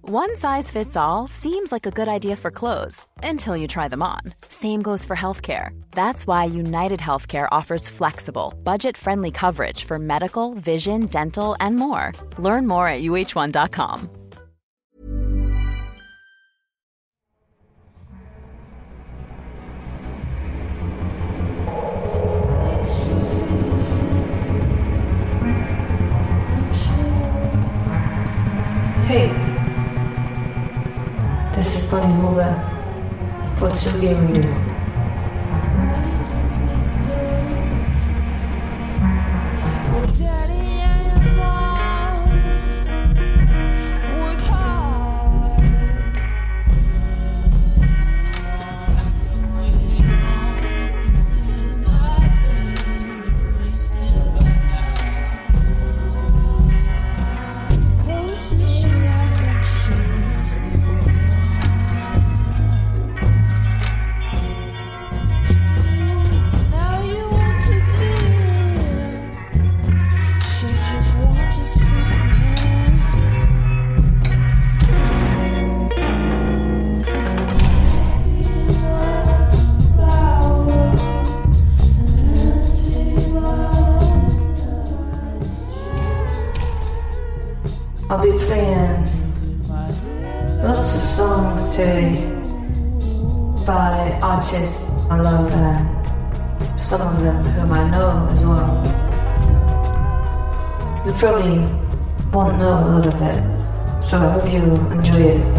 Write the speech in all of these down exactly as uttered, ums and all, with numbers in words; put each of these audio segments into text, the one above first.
One size fits all seems like a good idea for clothes until you try them on. Same goes for healthcare. That's why United Healthcare offers flexible, budget-friendly coverage for medical, vision, dental, and more. Learn more at U H one dot com. Hey, this is Tony Hoover for Tsugi Radio. I'll be playing lots of songs today by artists I love and some of them whom I know as well. You probably won't know a lot of it, so I hope you enjoy it.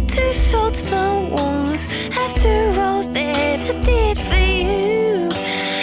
Salt my wounds after all that I did for you.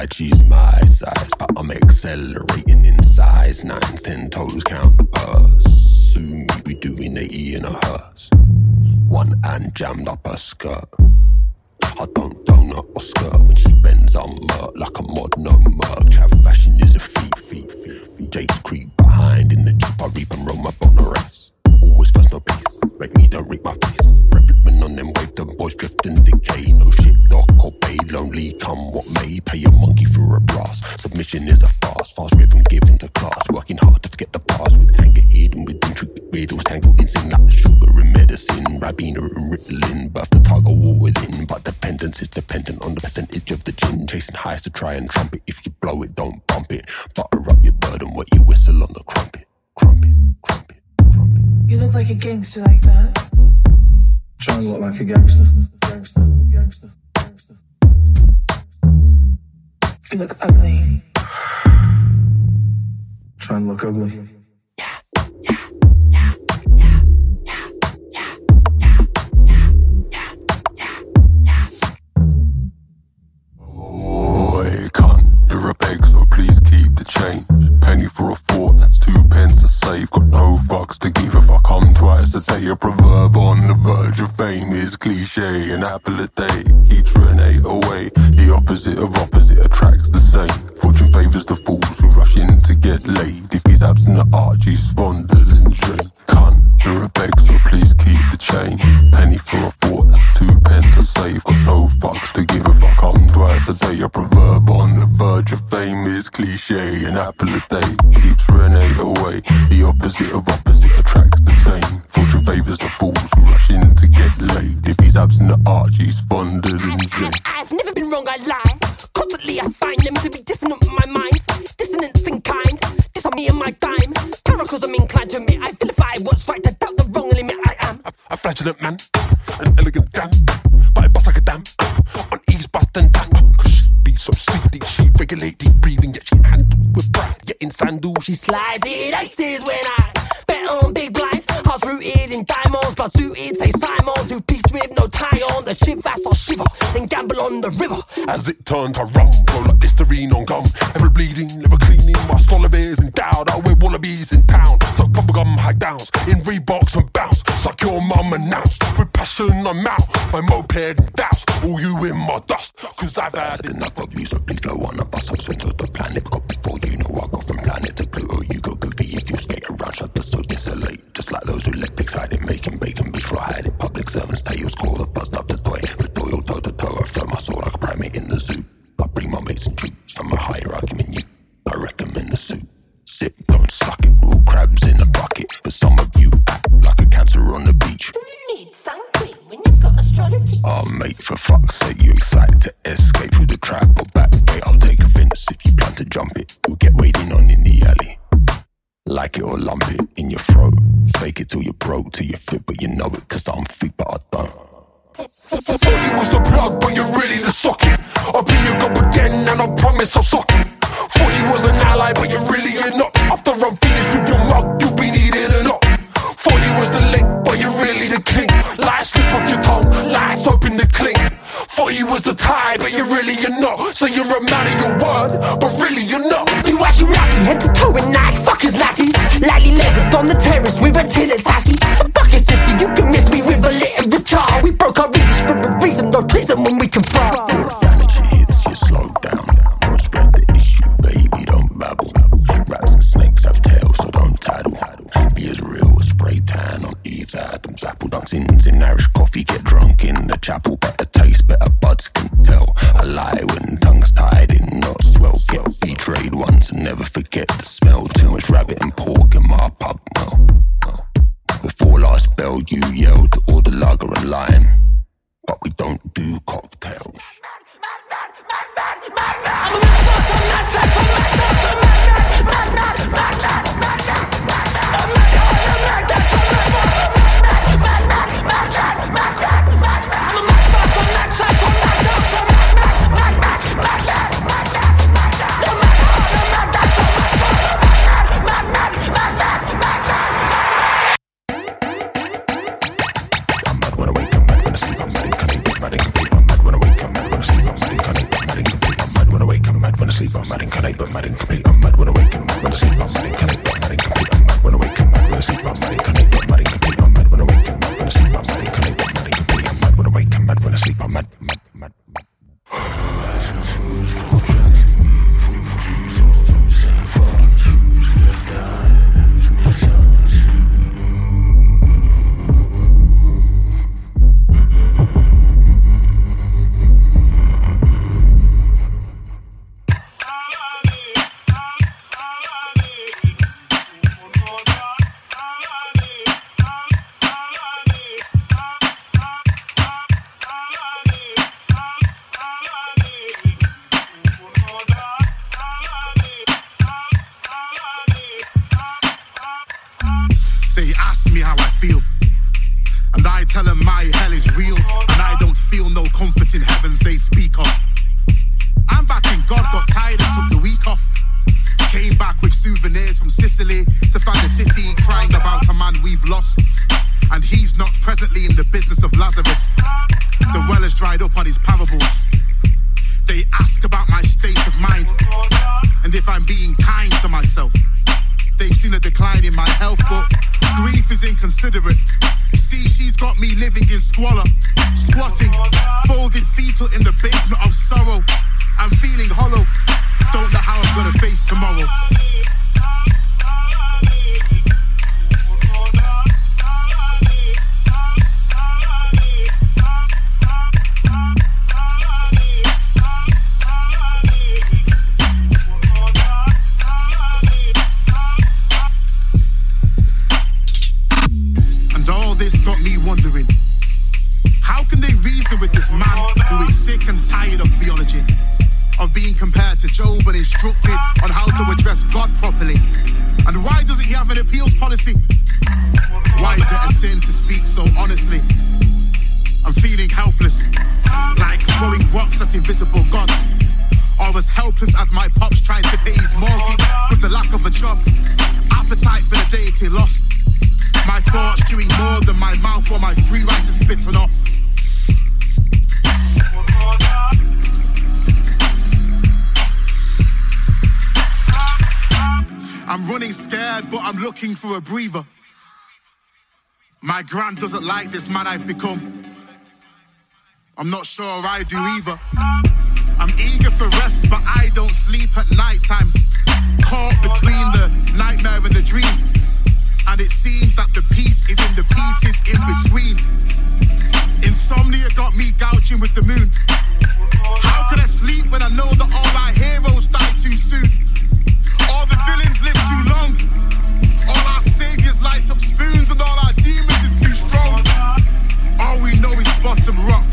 lied, she's my size, but I'm accelerating in size. Nines, ten toes, count the purse. Soon we be doing eighty in a hearse. One hand jammed up her skirt. I don't donut or skirt when she bends on murk like a mod, no murk. Chav fashion is a feat, feat, feat, feat. Jake's creep behind in the Jeep. I reap and roll my on the race. Always first, no peace. Break me, don't reap my face. Reflecting on them wave, the boys drift and decay. No shit, dock or pay, lonely come what may. Pay a monkey for a blast. Submission is a fast, fast rhythm given to class. Working hard to forget the past with anger hidden with intricate riddles. Tangled in sin like the sugar in medicine. Ribena and Ritalin, birth the tiger war within. But dependence is dependent on the percentage of the gin. Chasing highs to try and trump it. If you blow it, don't bump it. Butter up your burden, wet your whistle on the crumpet. Crumpet, crumpet, crumpet. You look like a gangster like that. Try and look like a gangster. Gangster, gangster, gangster. You look ugly. Try and look ugly. Oi, cunt, you're a beg, so please keep the change. Penny for a thought, that's two pence to save. Got no fucks to give if I come twice a day. A proverb on the verge of fame is cliche. An apple a day keeps Renee away. The opposite of opposite attracts the same. Fortune favours the fools who rush in to get laid. If he's absent at arch, he's fonder than Jane. Cunt, you're a beg, so please keep the change. Penny for a thought, that's two pence to save. Got no fucks to give if I come twice a day. A proverb on the verge of fame is cliche. An apple a day keeps Renee away. The opposite of opposite attracts the same. Fortune favours the fools who rush in to get laid. If he's absent at arch, he's fonder than Jane. I've never been wrong, I lie. Constantly I find them to be dissonant with my mind. Dissonance in kind, this on me and my dime. Paracles I'm inclined to admit, I vilify what's right, I doubt the wrong limit I am. A, a flagellant man, an elegant damn, but I bust like a damn. On ease, bust and tang, cause she be so sleepy. She regulate deep breathing, yet she handle with pride. Yet in sandals, She slides it aces when I bet on big blinds. Hearts rooted in diamonds, blood suited, say Simon. Two piece with no tie on, the shiv ass or shiver, then gamble on the river. as it turned to rum, roll like Listerine on gum. Ever bleeding, never cleaning, my Stollivares endowed. I wear wallabies in town, suck bubblegum high downs, in Reeboks and bounce. Suck your mum announced, with passion I'm out, my moped and douse. All you in my dust, cause I've had enough of you, so please blow on a bus. I'll swing to the planet, got before you know I go from planet to Pluto. You go goofy if you skate around, shut the so desolate. Just like those who let pigs hide it, making bacon, bitch, right hide it. Public servants, tails, call the buzz up the toy. The toil, toe to toe, I throw my sword like a primate in the zoo. I bring my mates and troops from a higher argument you. I recommend the suit. Sip, don't suck it, rule crabs in a bucket. But some of you act like a cancer on the beach. You need sun cream when you've got astrology. Oh mate, for fuck's sake, you excited to escape through the trap or back gate? I'll take offence if you plan to jump it. You'll get waiting on in the alley. Like it or lump it in your throat. Fake it till you're broke, till you're fit, but you know it, cause I'm fit, but I don't. Thought you was the plug, but you're really the socket. I'll be your gob again, and I promise I'll sock it. Thought you was an ally, but you're really you're not. After I'm finished with your mug, you'll be needed or not. Thought you was the link, but you're really the king. Lies slip off your tongue, lies open the cling. Thought you was the tie, but you're really you're not. So you're a man of your word, but really you're not. You ask you lucky, head to toe and Nike, fuckers lackey. Lightly legged on the terrace with a tin and tasky. Fuck is this, you can miss me with a literature. We broke our readers for a reason, no treason when we confront. Your vanity hits you, slow down. Don't spread the issue, baby, don't babble. Rats and snakes have tails, so don't tattle. Be as real as spray tan on Eve's Adam's apple. Dunks ins in Irish coffee, get drunk in the chapel. Better taste, better buds can tell. I lie when tongue's tied in knots. Well, get betrayed once and never forget the smell. Too much rabbit and pork in my pub, well, well. The sleep, I'm mad incarnate, but mad incomplete. I'm mad when awake and mad when I sleep, I'm mad incarnate, but mad incomplete. I'm mad when awake and mad when I sleep, I'm mad incarnate, but mad incomplete. I'm mad when awake and mad when I sleep, I'm mad incarnate, but mad incomplete. I'm mad when awake and mad when I sleep, I'm mad, mad, mad, mad. For a breather. My grand doesn't like this man I've become. I'm not sure I do either. I'm eager for rest, but I don't sleep at night time. Caught between the nightmare and the dream. And it seems that the peace is in the pieces in between. Insomnia got me gouging with the moon. How can I sleep when I know that all our heroes die too soon? All the villains live too long. All our saviors light up spoons and all our demons is too strong. All we know is bottom rock.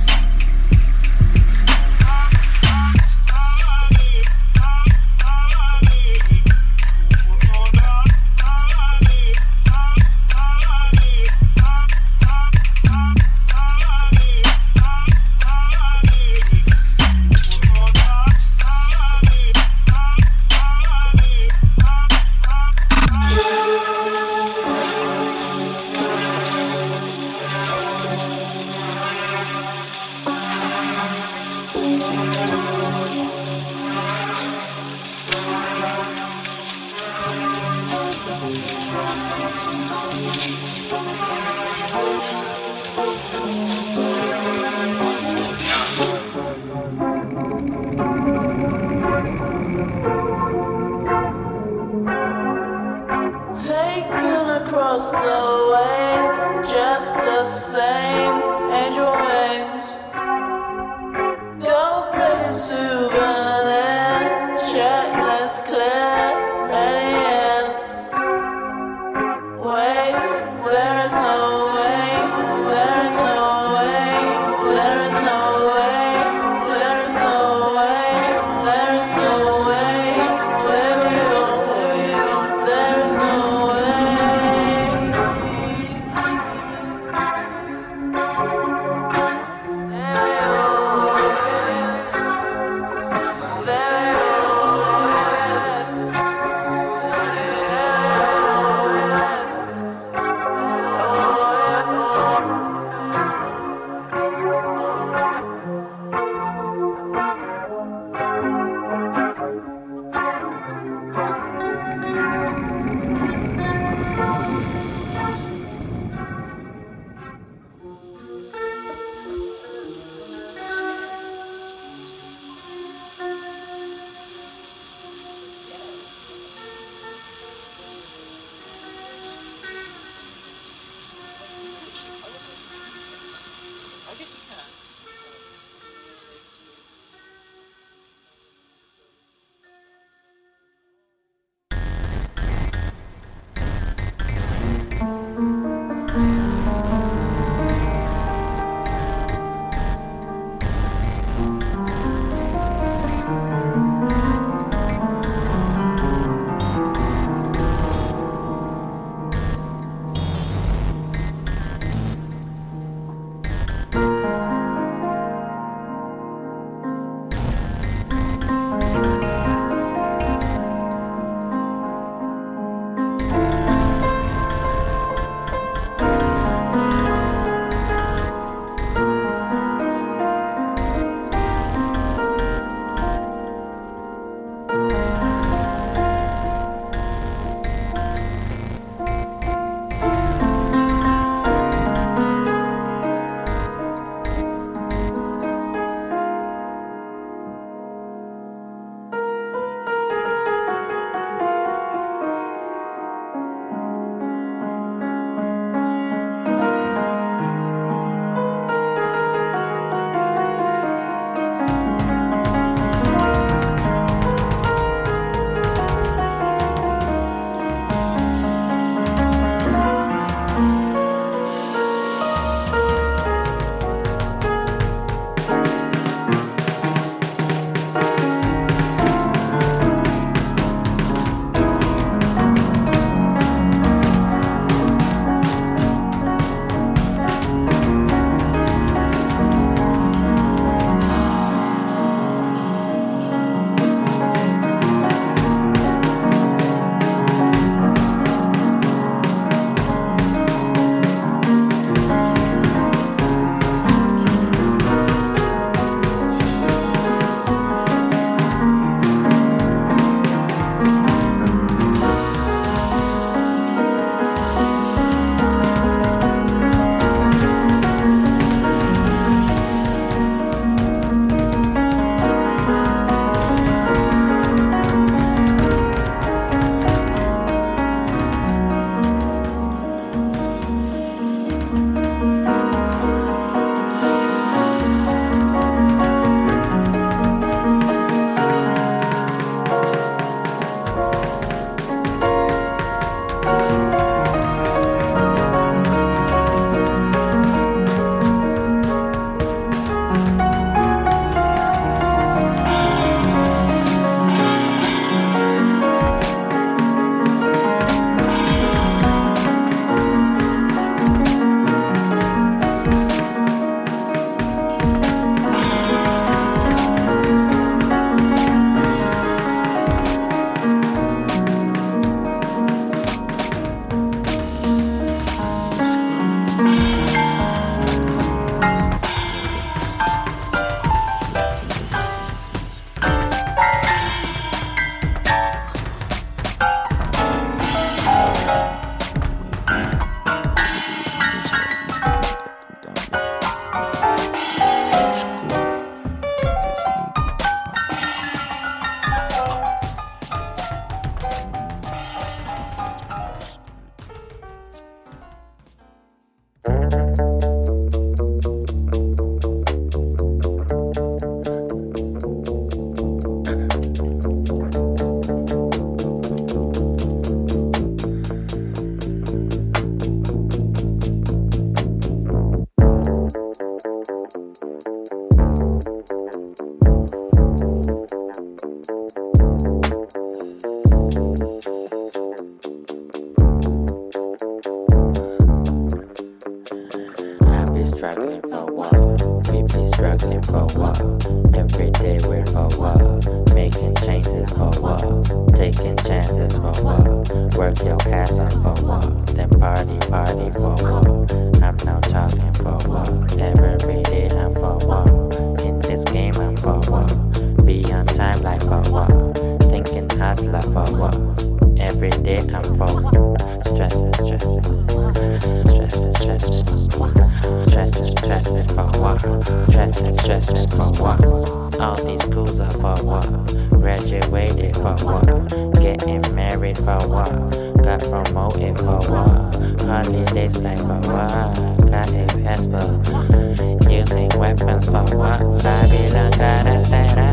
hustler for what? Every day I'm full. Stressing, stressing. Stressing, stressing. Stressing, stressing for what? Stressing, stressing for what? All these schools are for what? Graduated for what? Getting married for what? Got promoted for what? Holidays like for what? Got a passport. Using weapons for what? Babylon got us better.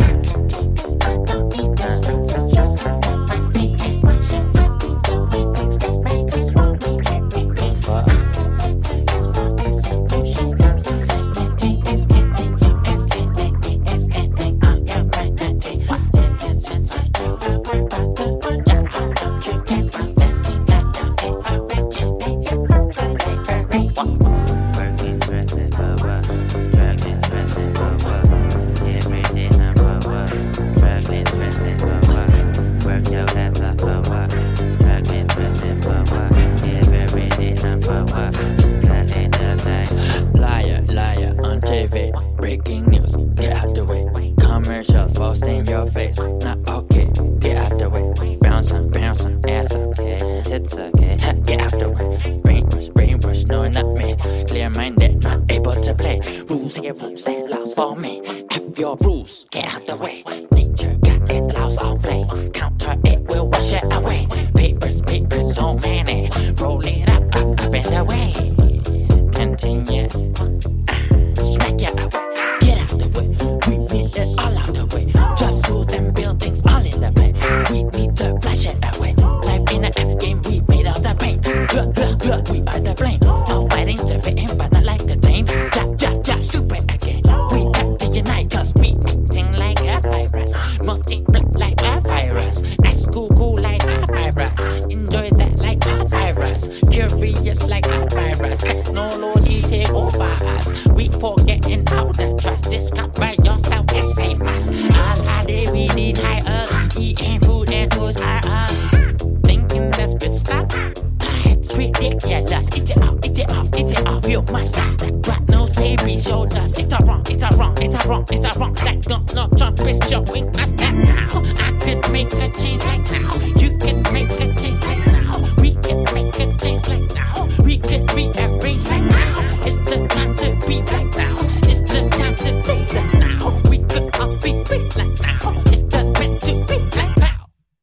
Liar, liar on T V, breaking news, get out the way. Commercials posting your face, not okay, get out the way. Bouncing, bouncing, ass okay, it's okay, get out the way. Brainwash, brainwash, no not me. Clear minded, not able to play. Rules here, rules they laws for me. Have your rules, get out the way. Nature got its laws on play. Counter it, will wash it away. Papers, papers, so many. Roll it up, up, up and away. Continue. Smack it away. Get out the way. We need it all out the way. Drive schools and buildings all in the play. We need to flash it away. Life in the F game, we made all the pain. Blah, blah, blah, we are the blame. All fighting to fit in, but not like the team. Jab, jab, jab, stupid again. We have to unite, cause we acting like a virus. Multiply like a virus. At school, cool like a virus. Enjoy that like a virus. Curious like a virus. Technology take over us. We forgetting how to trust. Discover yourself and save us. All our day we need high us. Eating food and toys are us. Thinking that's good stuff. It's ridiculous. Eat it up, eat it up, eat it up. You must stop. But no savory showed us. It's a wrong, it's a wrong, it's a wrong, it's a wrong. That Donald Trump is showing us that now. I could make a change like now. You can make a change like now. We can make a change like now. We can rearrange like now. It's the time to be like now. It's the time to be like now. We could all be free like now. It's the time to be like now.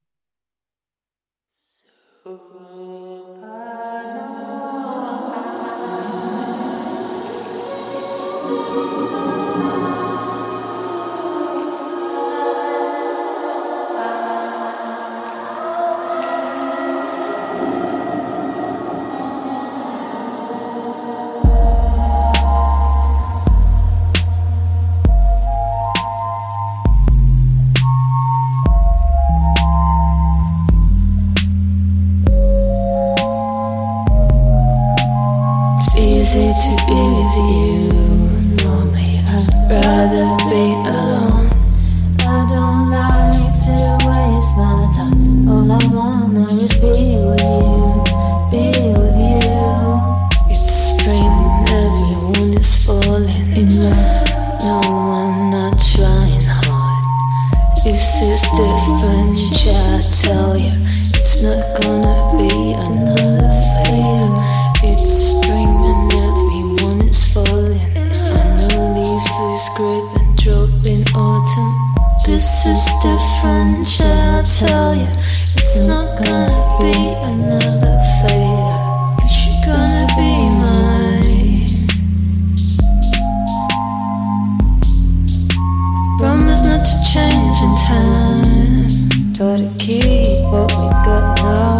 Easy to be with you. Normally I'd rather be alone. I don't like to waste my time. All I wanna is be with you, be with you. It's spring, everyone is falling in love. No, I'm not trying hard. This is different, I tell you. It's not gonna be another failure. It's spring and everyone is falling. I know leaves lose grip and drop in autumn. This is different, I'll tell you. It's not gonna be another failure. You're gonna be mine. Promise not to change in time. Try to keep what we got now.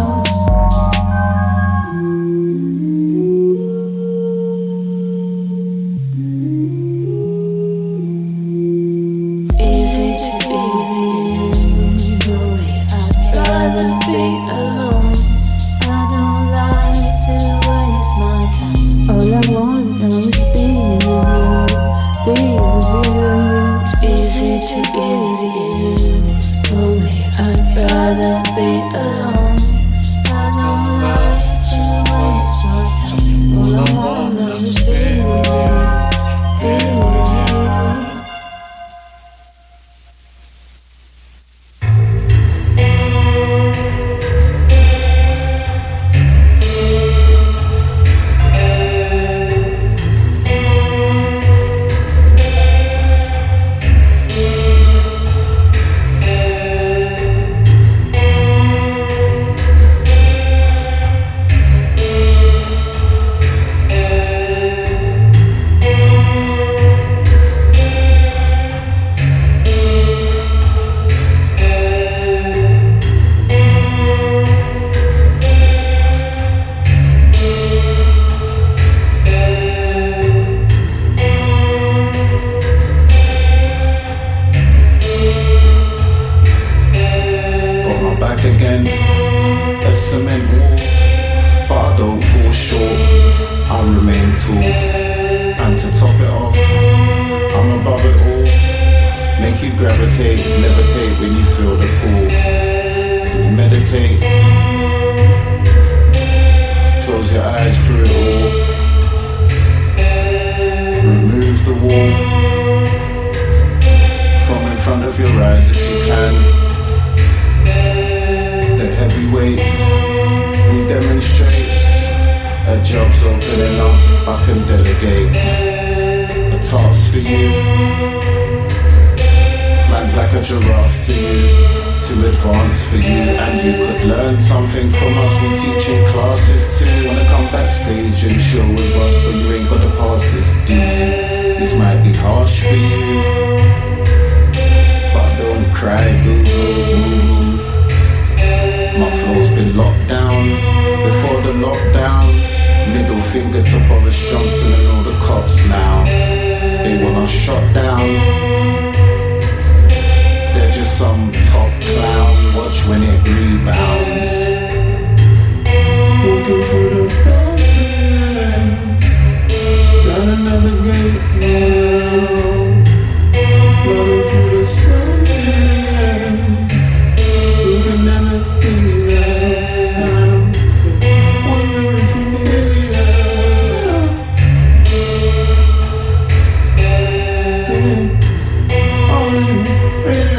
Levitate, levitate when you feel the pull. Meditate. Close your eyes through it all. Remove the wall from in front of your eyes if you can. The heavy weights we demonstrate. A job's opening up, I can delegate. A task for you. Man's like a giraffe to you, too advanced for you. And you could learn something from us, we teach in classes too. Wanna come backstage and chill with us, but you ain't got the passes, do you? This might be harsh for you, but don't cry, boo-hoo-hoo. My flow's been locked down, before the lockdown. Middle finger to Boris Johnson and all the cops now. They want us shot down. They're just some top clown. Watch when it rebounds. Walking through the darkness, down another gate now. Running through the sun, looking at the thing now. Wondering if you hear me now. Are you ready?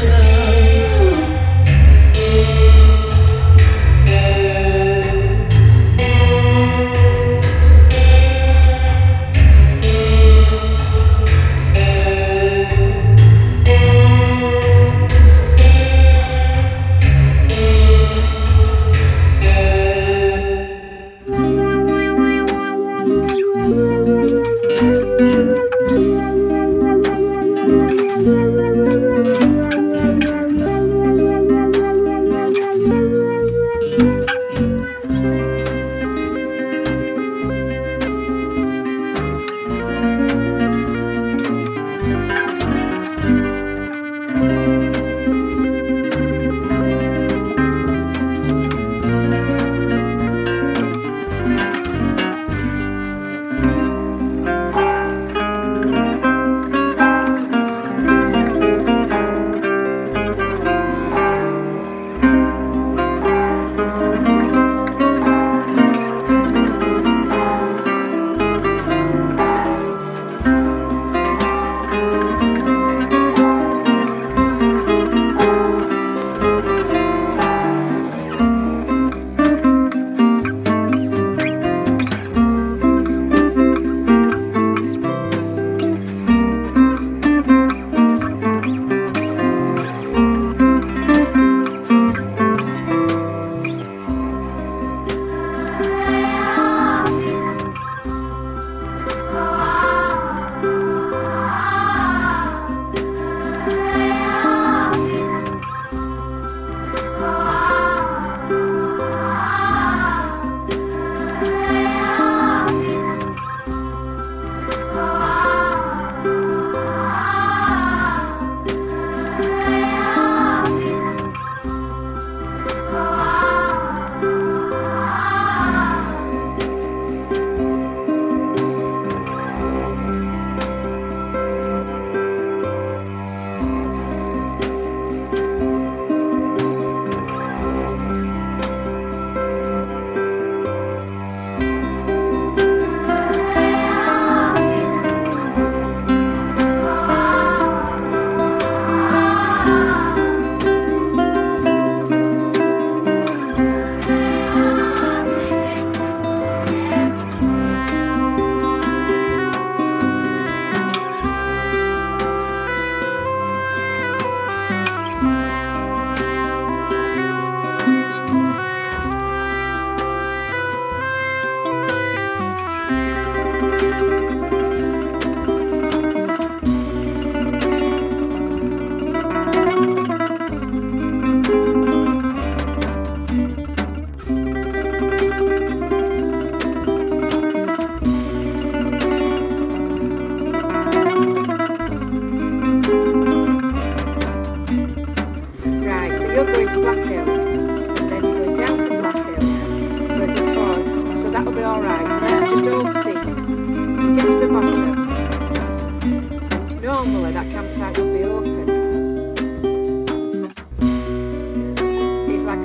normally that campsite would be open.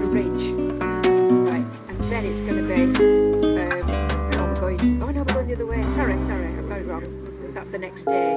Bridge. Right, and then it's going to be, um, oh, we're going, oh no, we're going the other way. Sorry, sorry, I've got it wrong. That's the next day.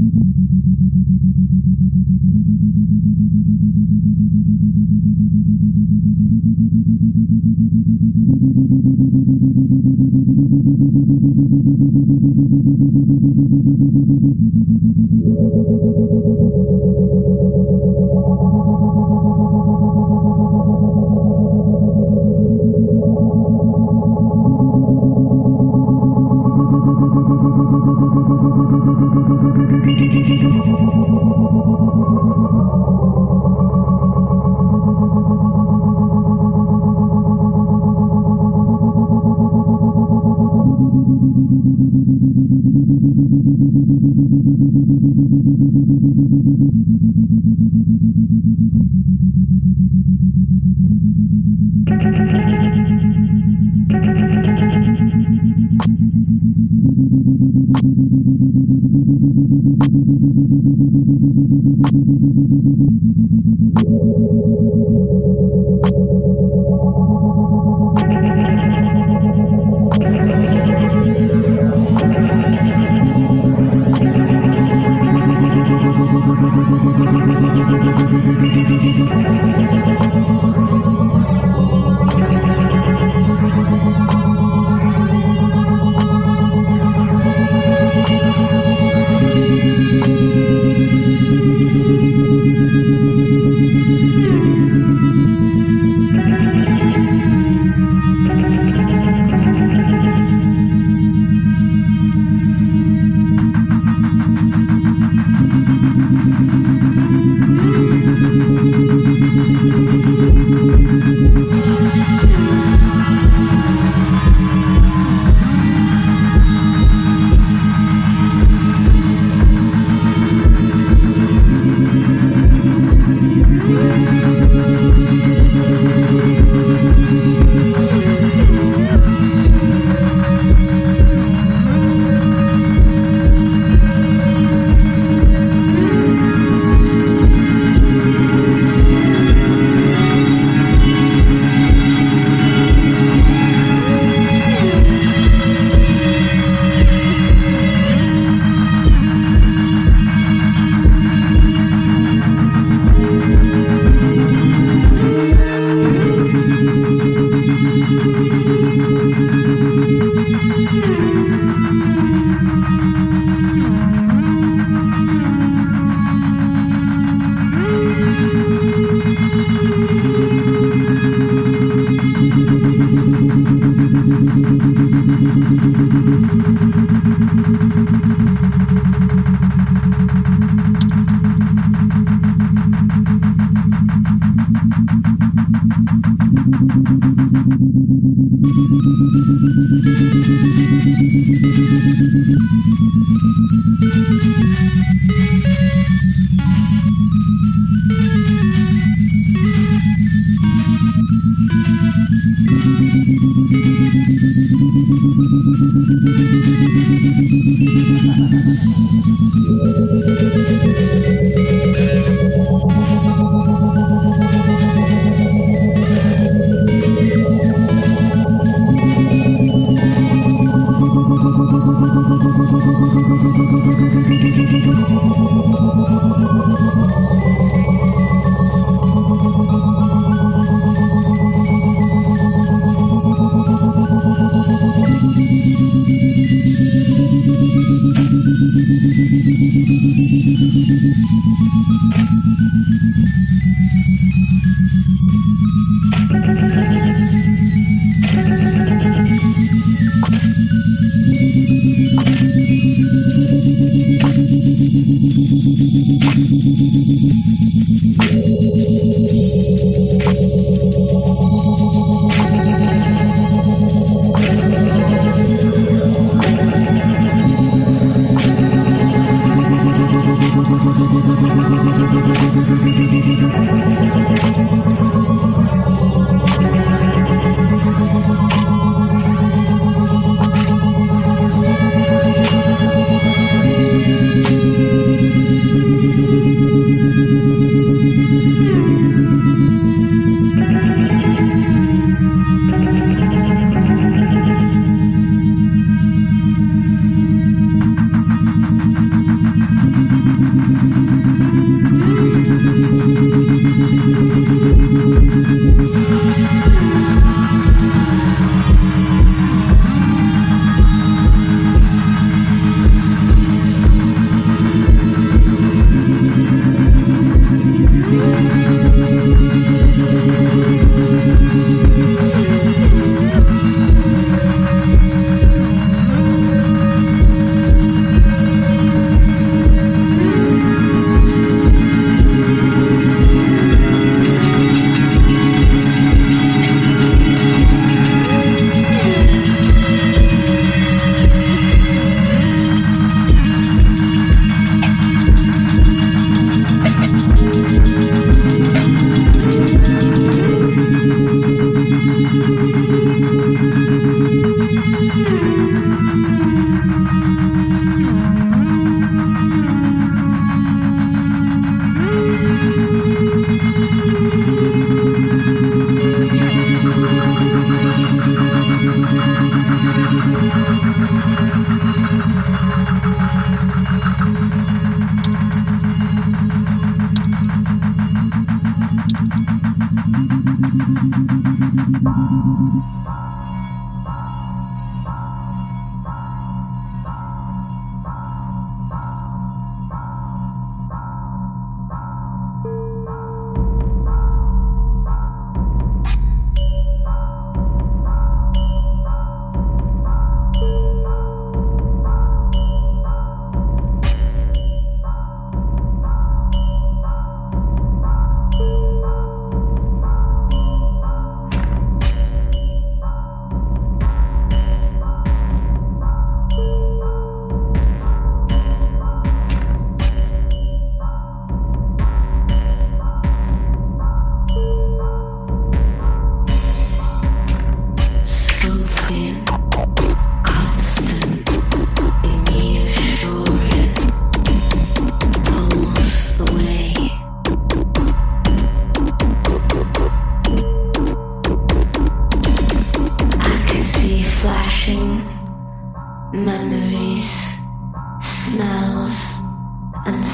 Thank you.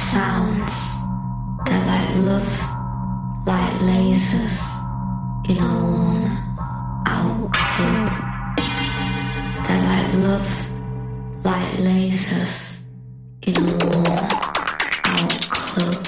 sounds that light love like lasers in a worn out club. That light love like lasers in a worn out club.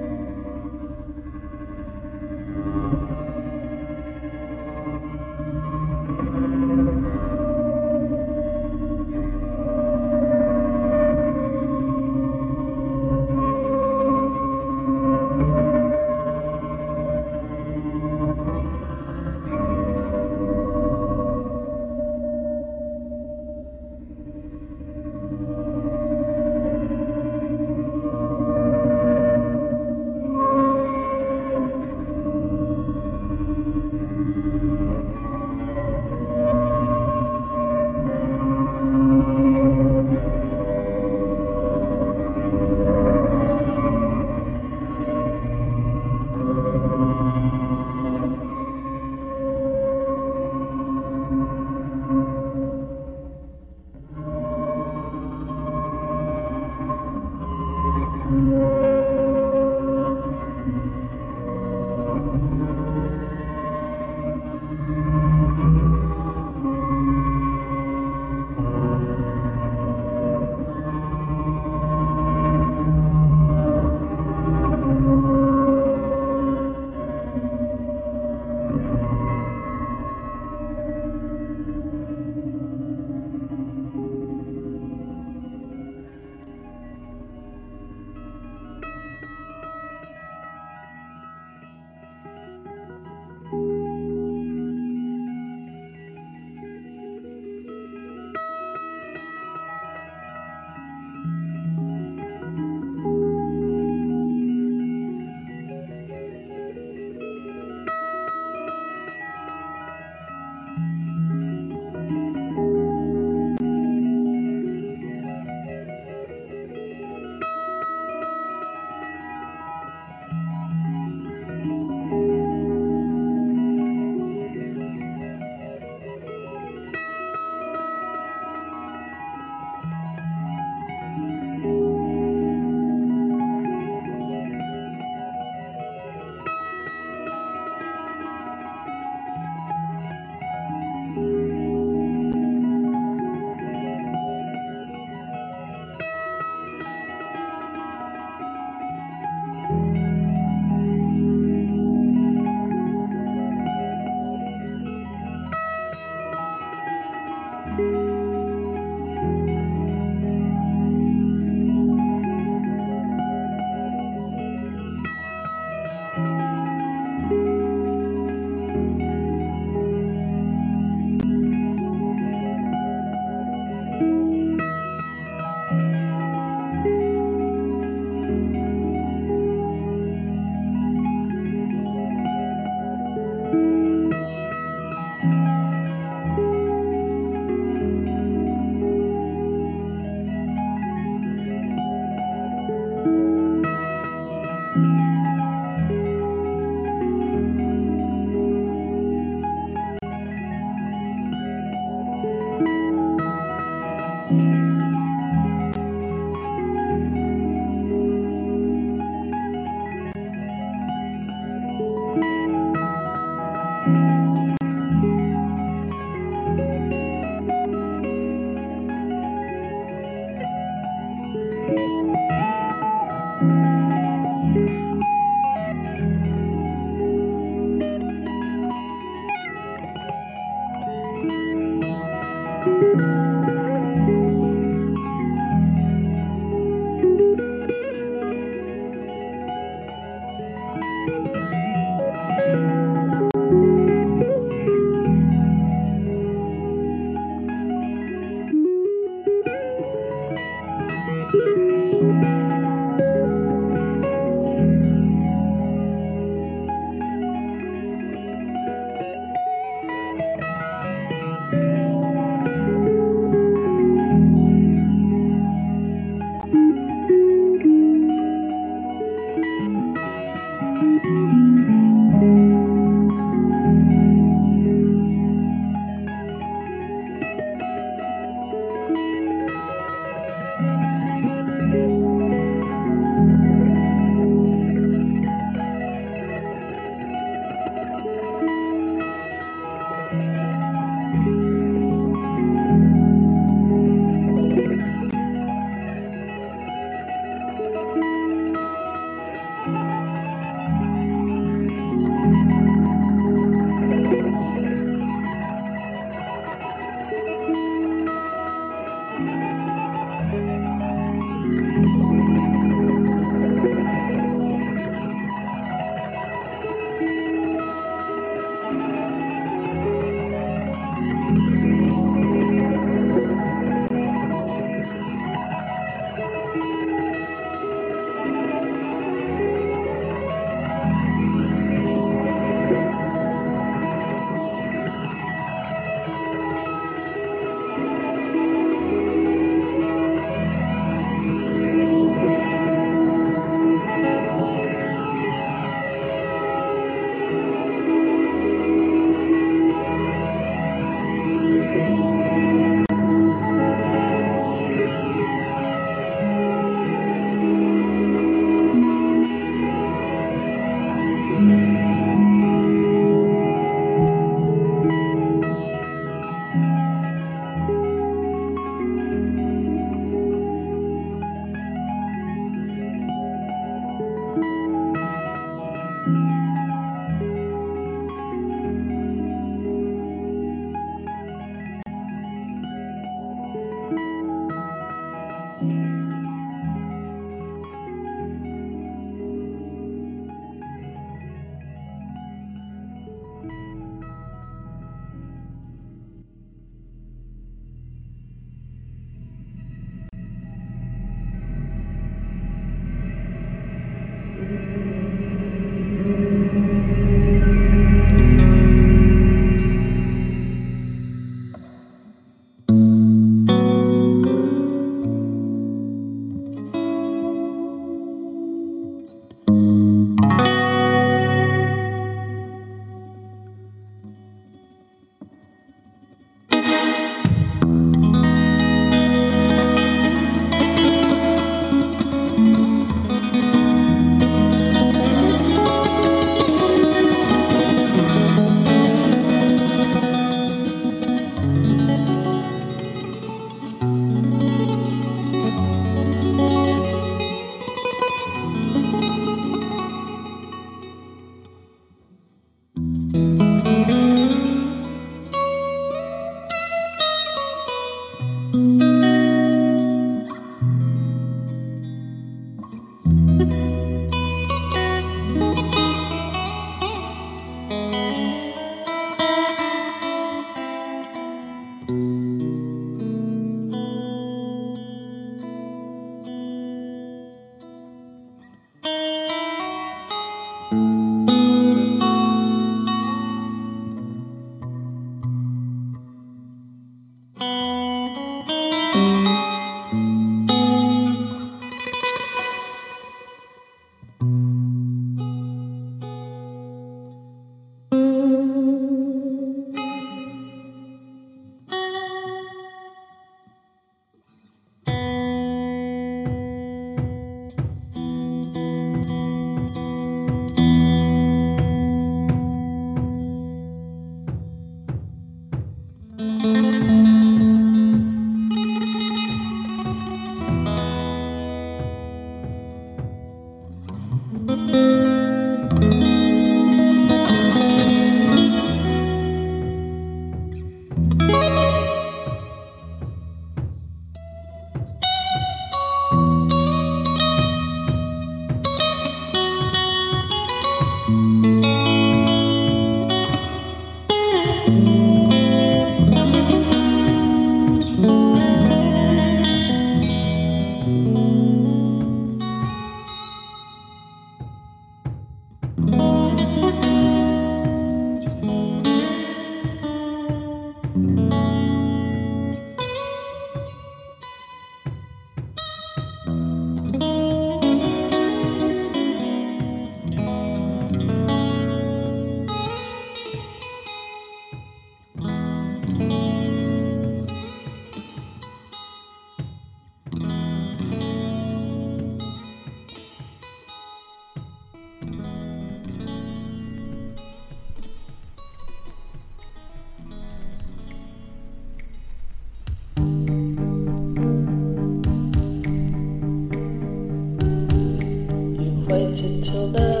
waited till now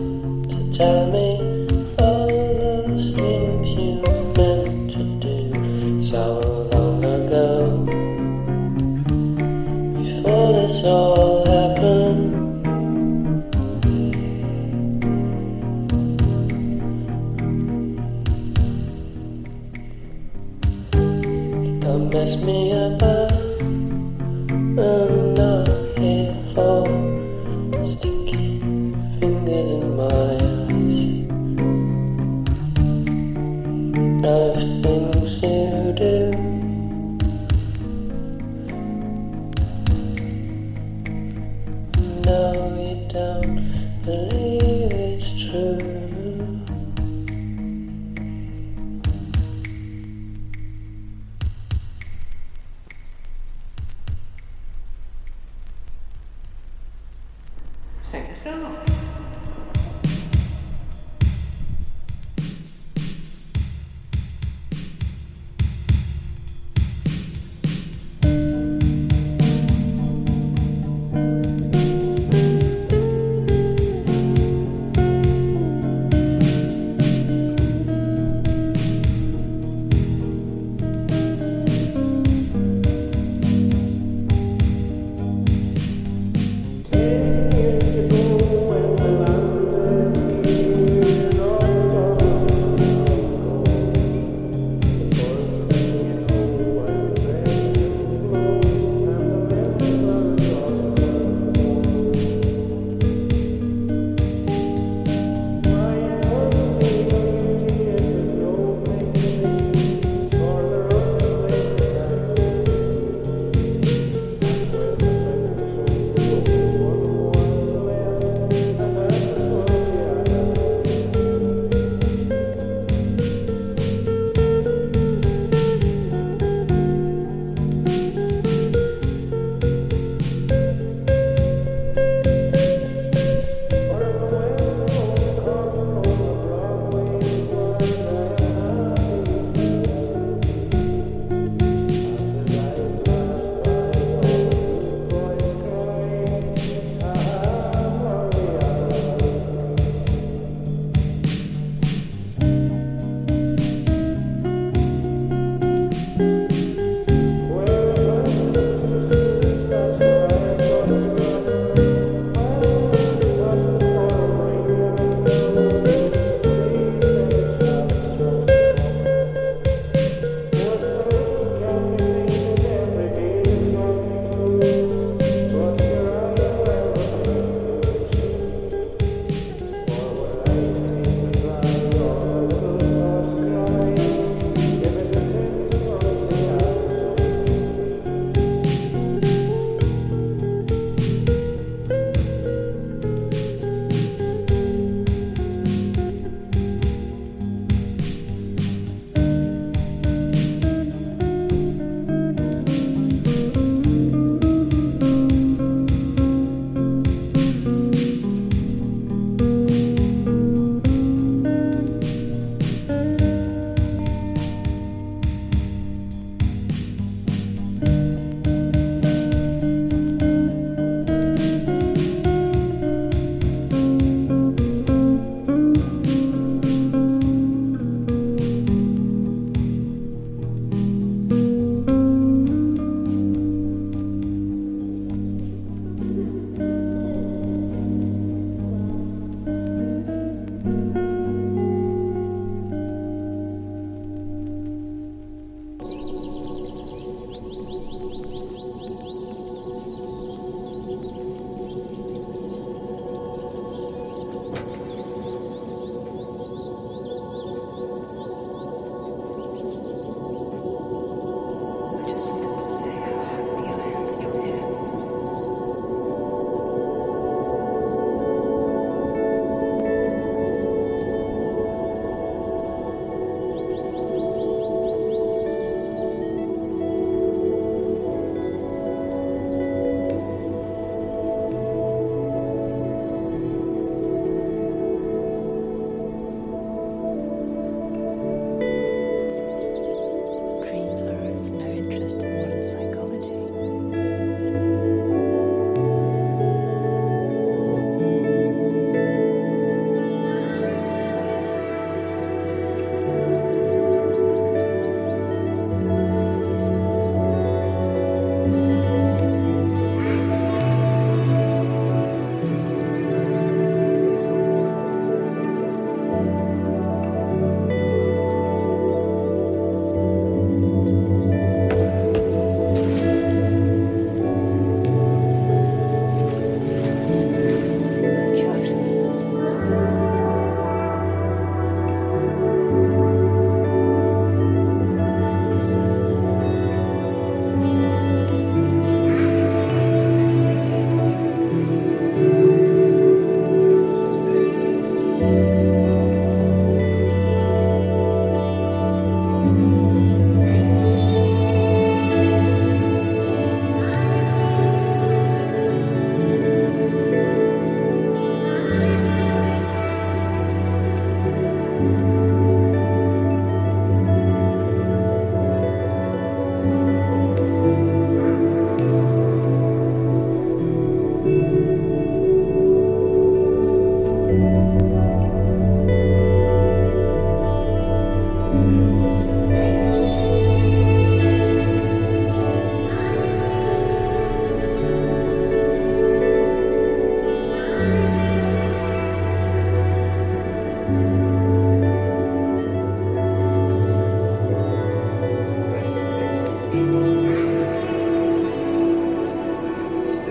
to tell me all those things you meant to do so long ago. Before this all happened, don't mess me about. I'm not here for sticky fingers in my eyes. Nice things you do. No, you don't believe it's true.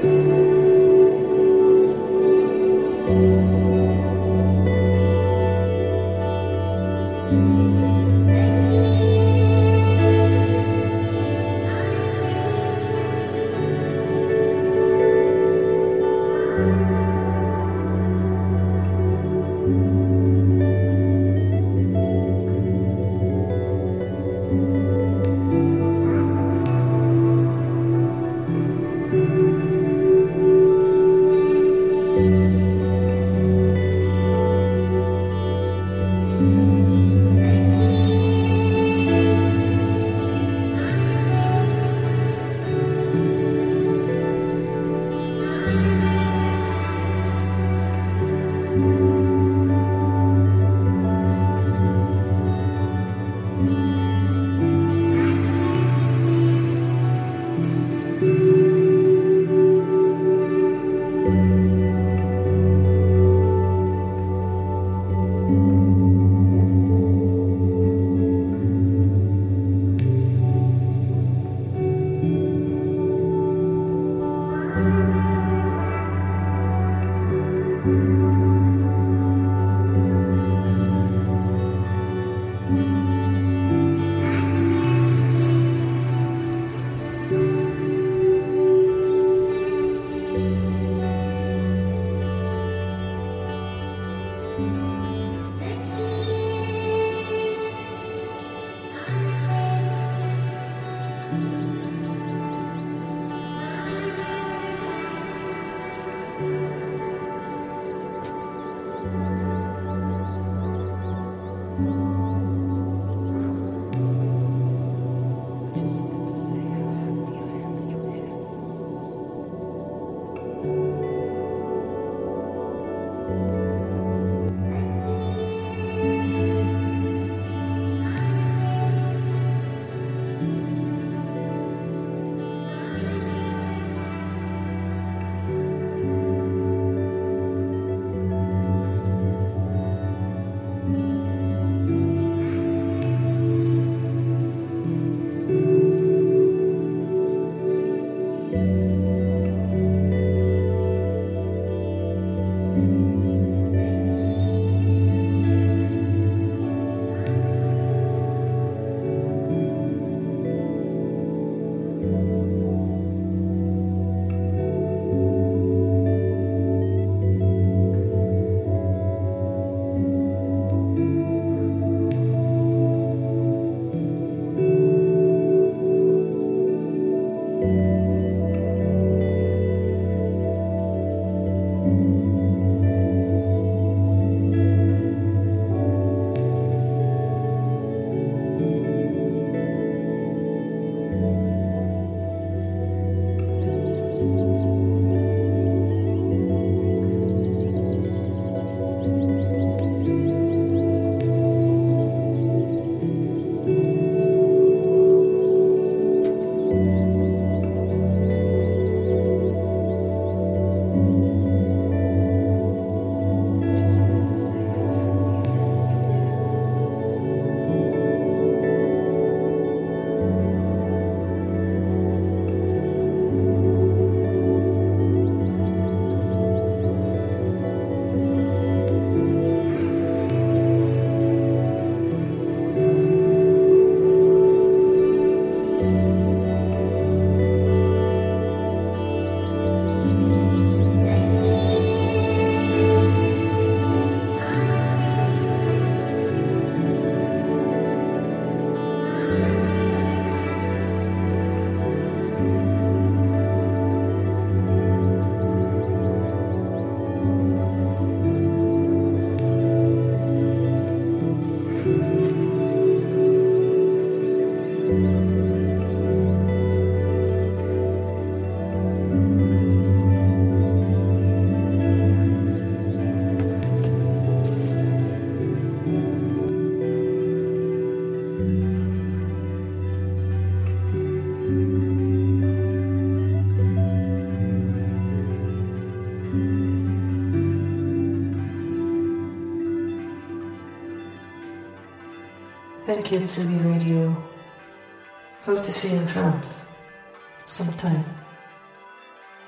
Thank you, Tsugi Radio. Hope to see you in France sometime.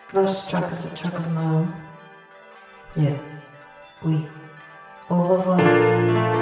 Last track is a track of my own. Yeah. Oui. Au revoir.